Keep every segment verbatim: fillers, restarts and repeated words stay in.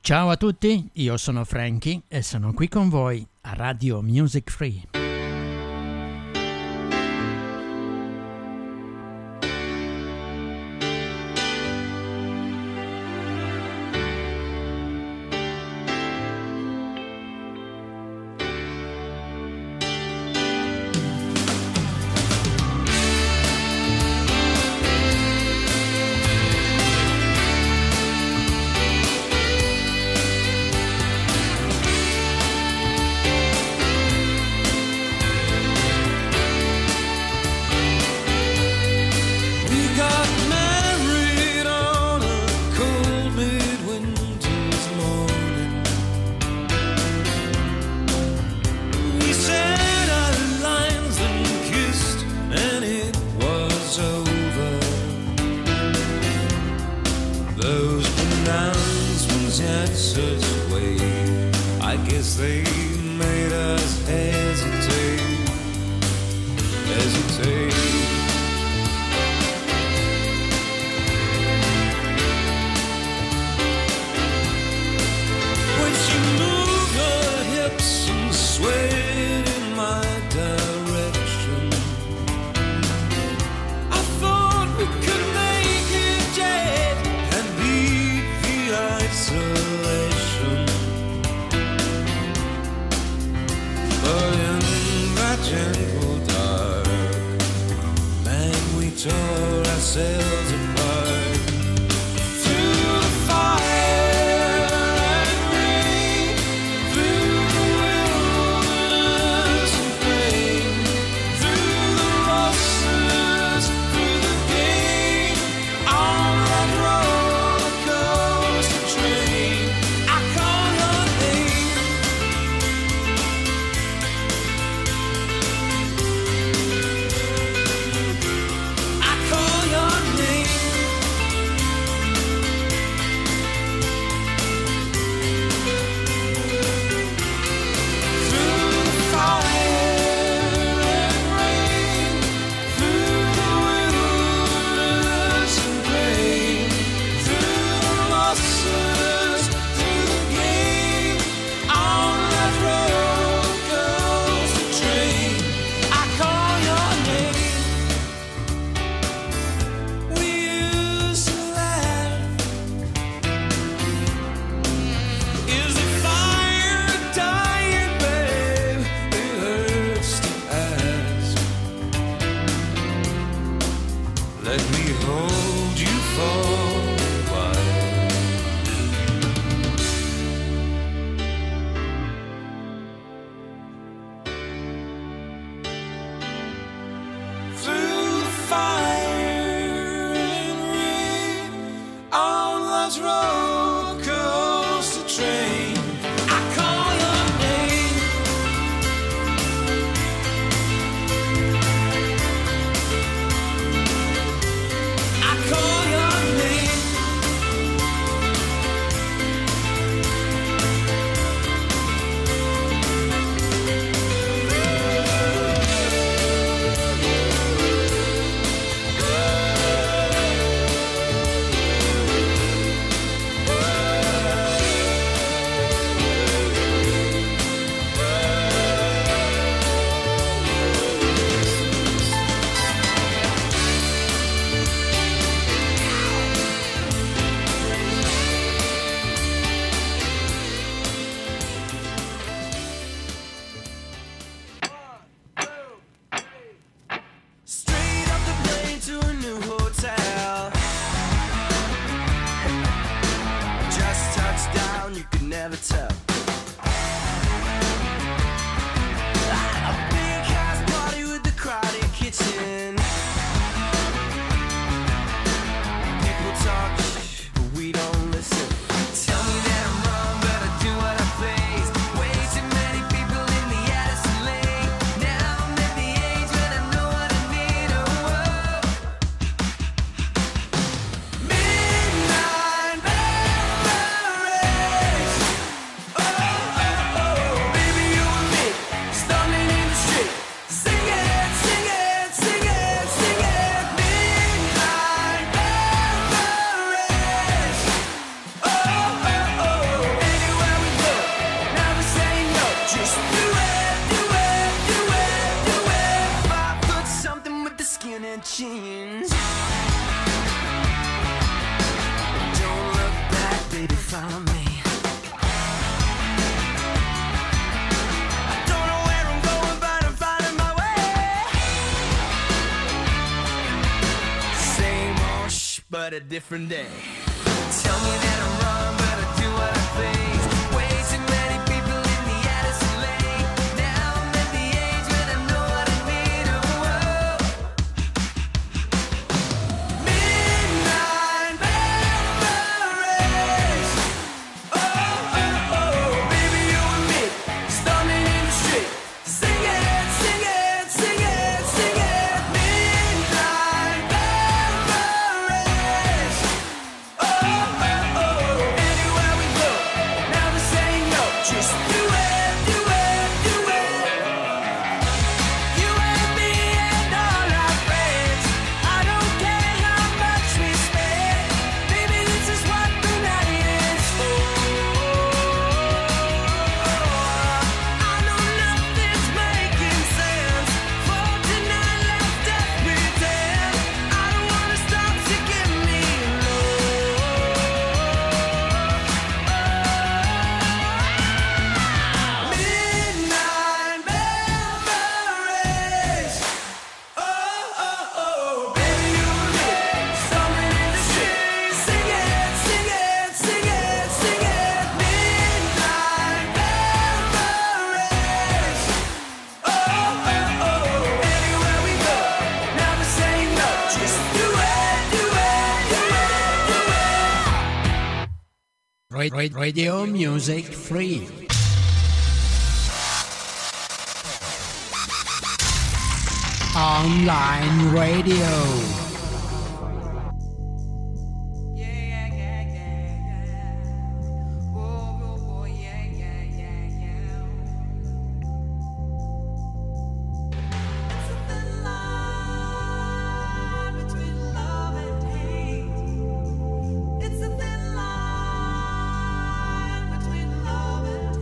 Ciao a tutti, io sono Frankie e sono qui con voi a Radio Music Free. but a different day. Tell me that I'm wrong, but I do what I please. Way too many people in the Addison Lane. Now I'm at the age when I know what I need. Oh, oh. Midnight memories. Oh, oh, oh. Baby, you and me, storming in the street. Sing it, sing it, sing it, sing it. Midnight memories. Oh, oh, oh. Anywhere we go, never say no. Just do it, do it, do it. You and me and all our friends. I don't care how much we spend. Baby, this is what the night is for. I know nothing's making sense. For tonight, let's just pretend. I don't wanna stop, so give me midnight memories. Oh, oh, oh. Baby, you and me, storming in the street. Sing it, sing it, sing it, sing it. Midnight memories. Oh, oh, oh. Anywhere we go, never say no. Just do it, do it, do it, do it. Ra- ra- Radio Music Free. Online radio. Yeah, yeah, yeah, yeah, yeah. Whoa, whoa, whoa, yeah, yeah, yeah, yeah. It's a thin line between love and hate. It's a thin line between love and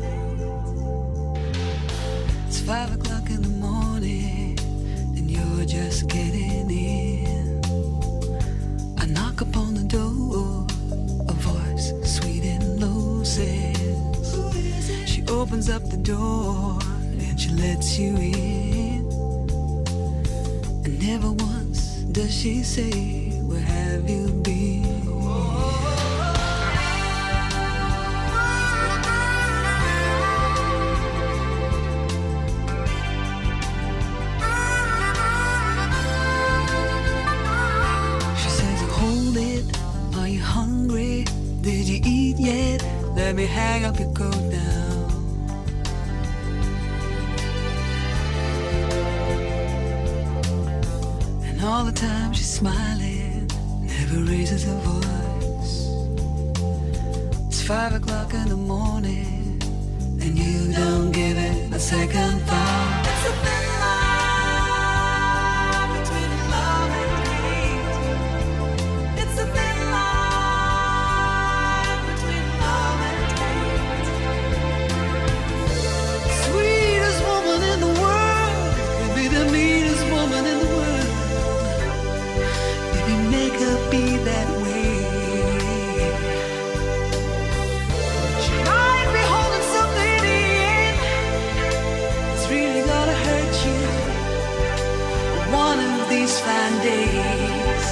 hate. It's five o'clock in the morning, and you're just getting in. I knock upon the door, a voice sweet and low says, "Who is it?" She opens up the door and she lets you in. And never once does she say, "Where have you been?" She says, "Hold it, are you hungry? Did you eat yet? Let me hang up your coat now." And all the time she's smiling, never raises her voice. It's five o'clock in the morning, and you don't give it a second thought. It's a thin line between love and hate. It's a thin line between love and hate. Sweetest woman in the world could be the meanest woman in the world. If you make her be that way, she might be holding something in. It's really gonna hurt you one of these fine days.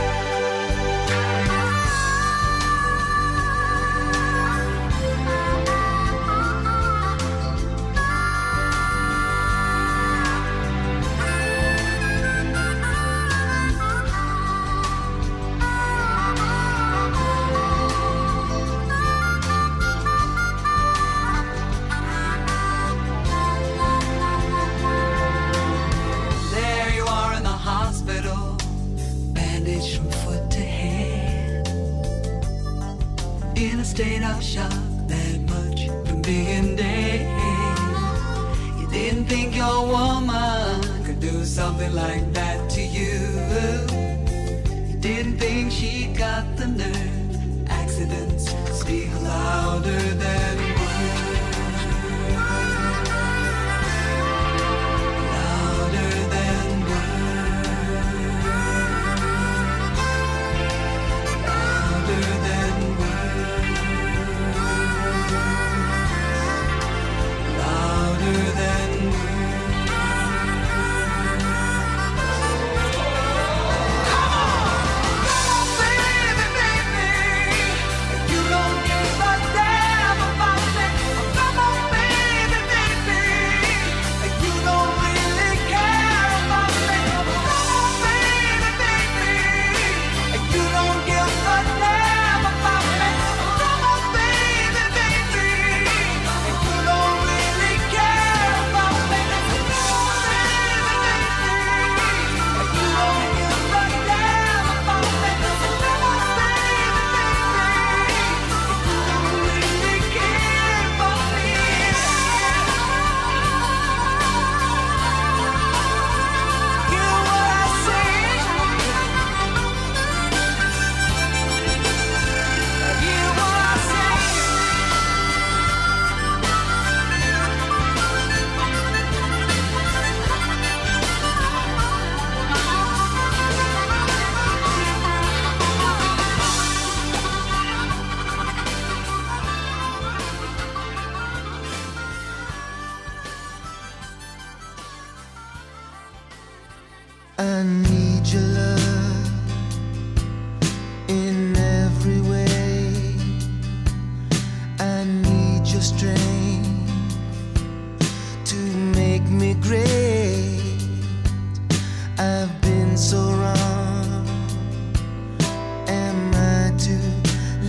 There you are in the hospital, bandaged from foot to head, in a state of shock, that much from being dead. You didn't think your woman could do something like that to you. You didn't think she got the nerve. Accidents speak louder than words. Louder than words. Louder than words. Louder than words. Come on, baby.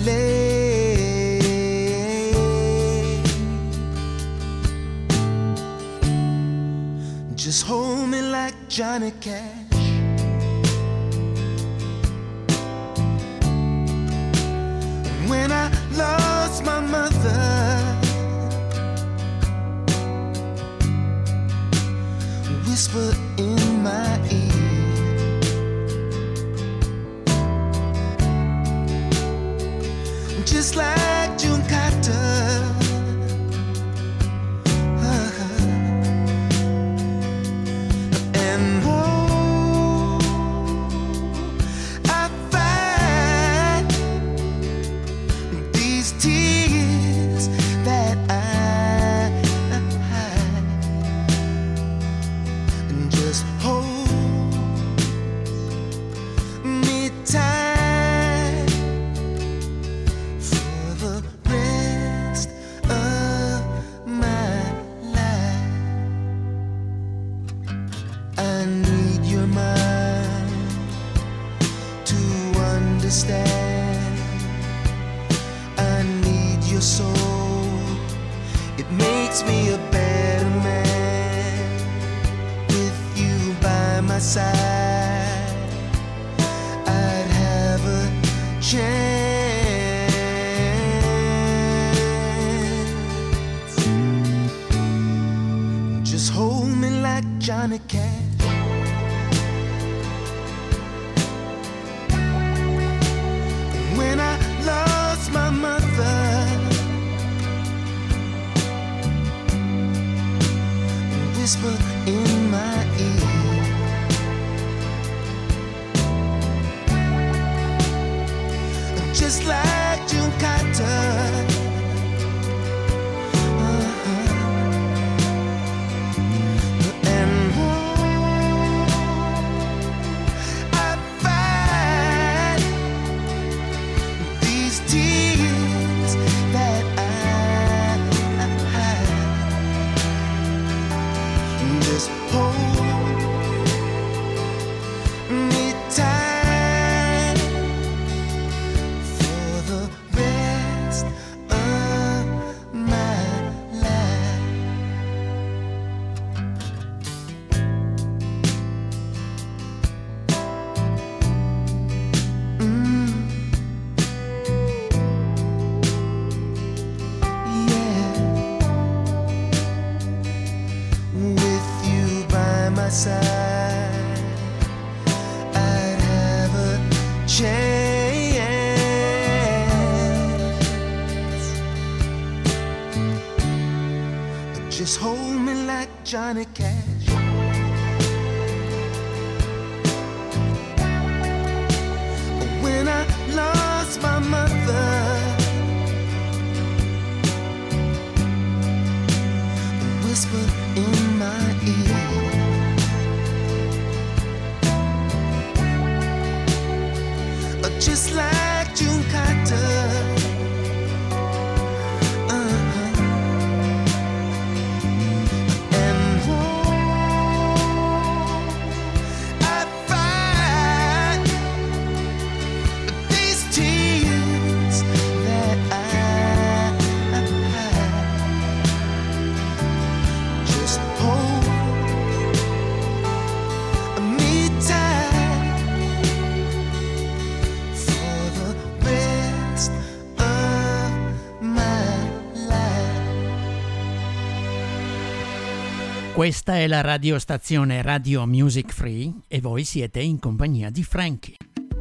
Just hold me like Johnny Cash. When I lost my mother, whisper in my ear, just like June Carter. Johnny Cash. When I lost my mother, whisper in my ear, just like June Carter. Just hold me like Johnny Cash. When I lost my mother, whisper in my ear, just like June Carter. Questa è la radiostazione Radio Music Free e voi siete in compagnia di Frankie.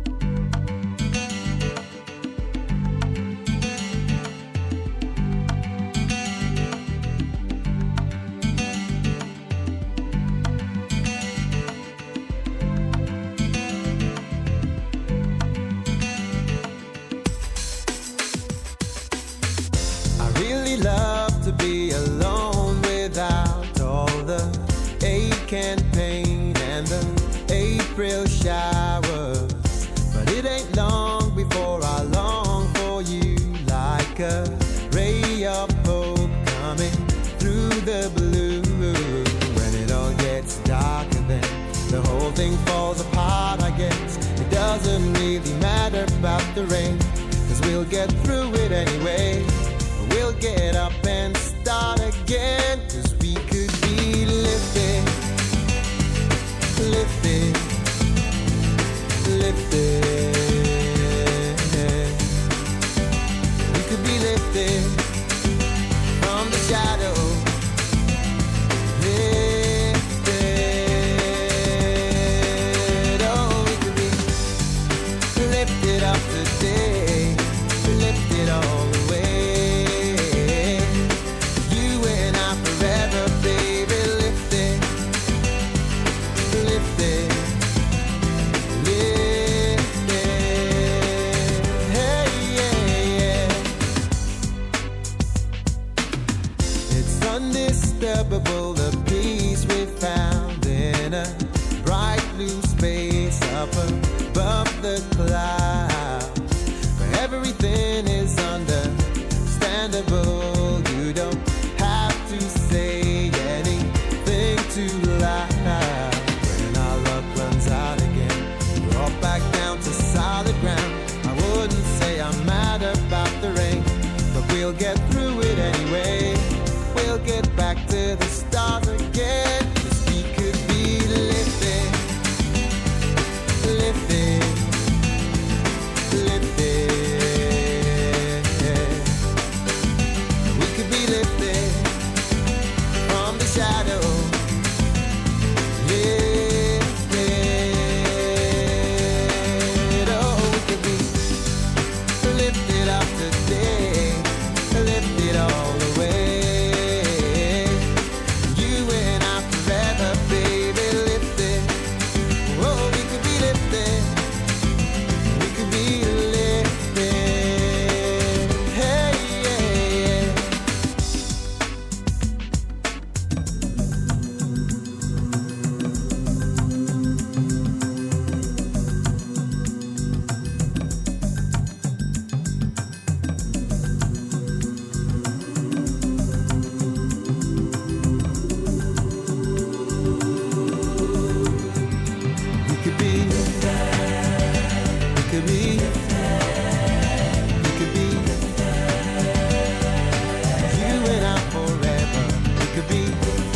I really love to be alone without the ache and pain and the April showers, but it ain't long before I long for you, like a ray of hope coming through the blue. When it all gets darker, then the whole thing falls apart, I guess. It doesn't really matter about the rain, 'cause we'll get through it anyway. We'll get up and start again, 'cause we could be lifted, lifted, lifted. We could be lifted from the shadow. Lifted, oh, we could be lifted up today, lifted all the way. You and I forever, baby, lifted, lifted, lifted. Hey, yeah, yeah. It's undisturbable, the peace we found in a bright blue space up above the clouds. Where everything is understandable. You don't have to say anything too loud. When our luck runs out again, we're all back down to solid ground. I wouldn't say I'm mad about the rain, but we'll get through it anyway. We'll get back to the stars again, 'cause we could be lifted, lifted, lifted. We could be lifted from the shadow, lifted. Oh, we could be lifted up today, lifted all the way. You and I forever, baby, lifted. Oh, we could be lifted, we could be lifted. Hey, yeah, yeah. We could be, we could be, we could be, you and I forever. We could be,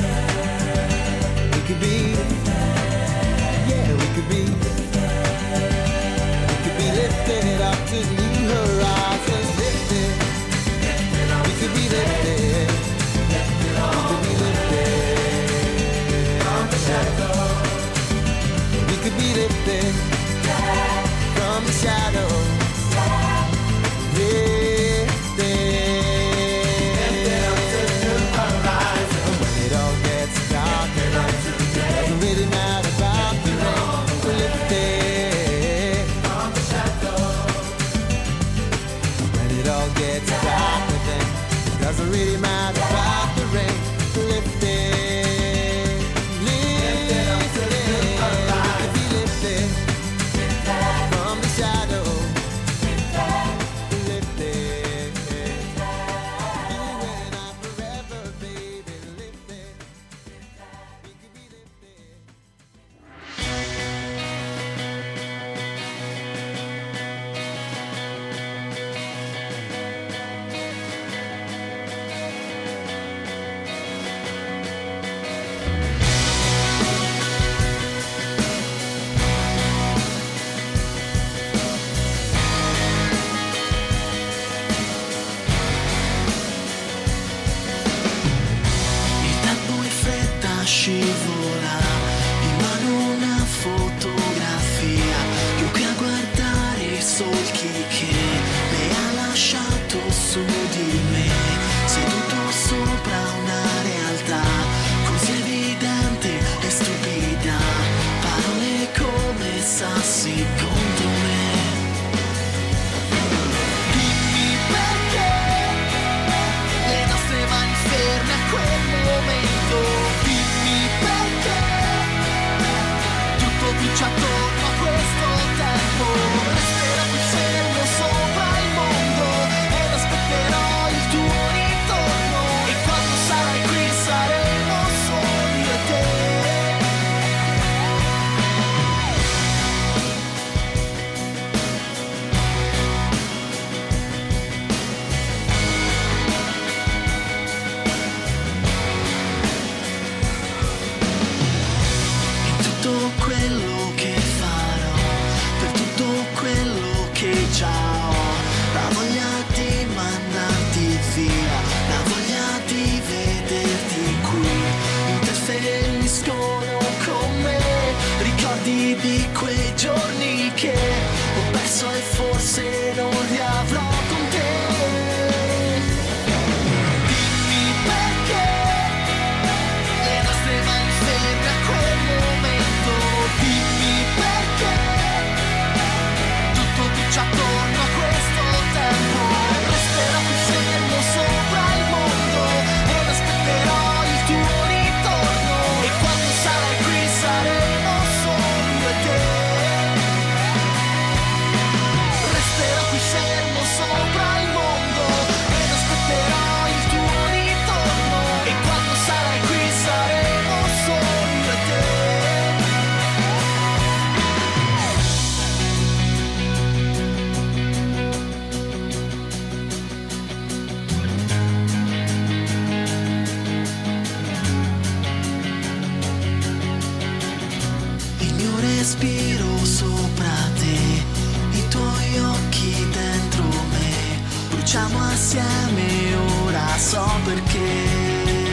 we could be, yeah, we could be, we could be lifted up to new horizons, lifted. We could be lifted, we could be lifted from the shadow. We could be lifted from the shadow. Lifted up to new horizon. When it all gets dark and doesn't really matter about the rain. Lifted from the shadow. When it all gets dark then it doesn't really matter about the rain. Lifted. facciamo assieme, ora so perché.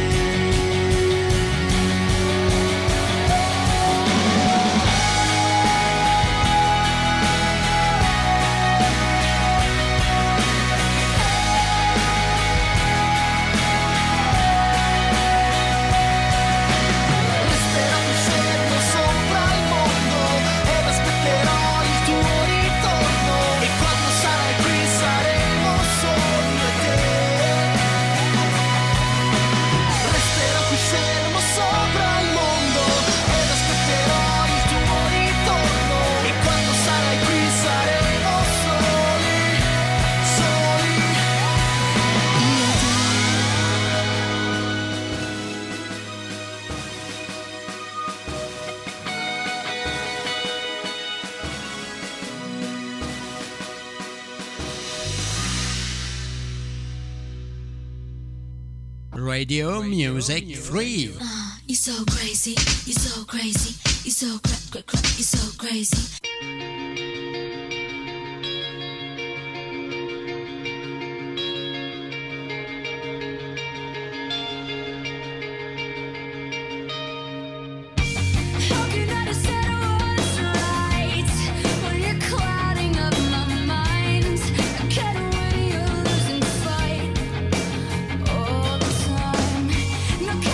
Radio Music Free. Uh, you're so crazy, you're so crazy, you're so cra- cra- cra- you're so crazy.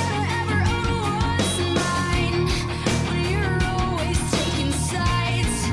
Ever own what's mine when you're always taking sides.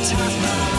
touch my